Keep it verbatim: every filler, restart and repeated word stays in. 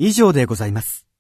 以上でございます。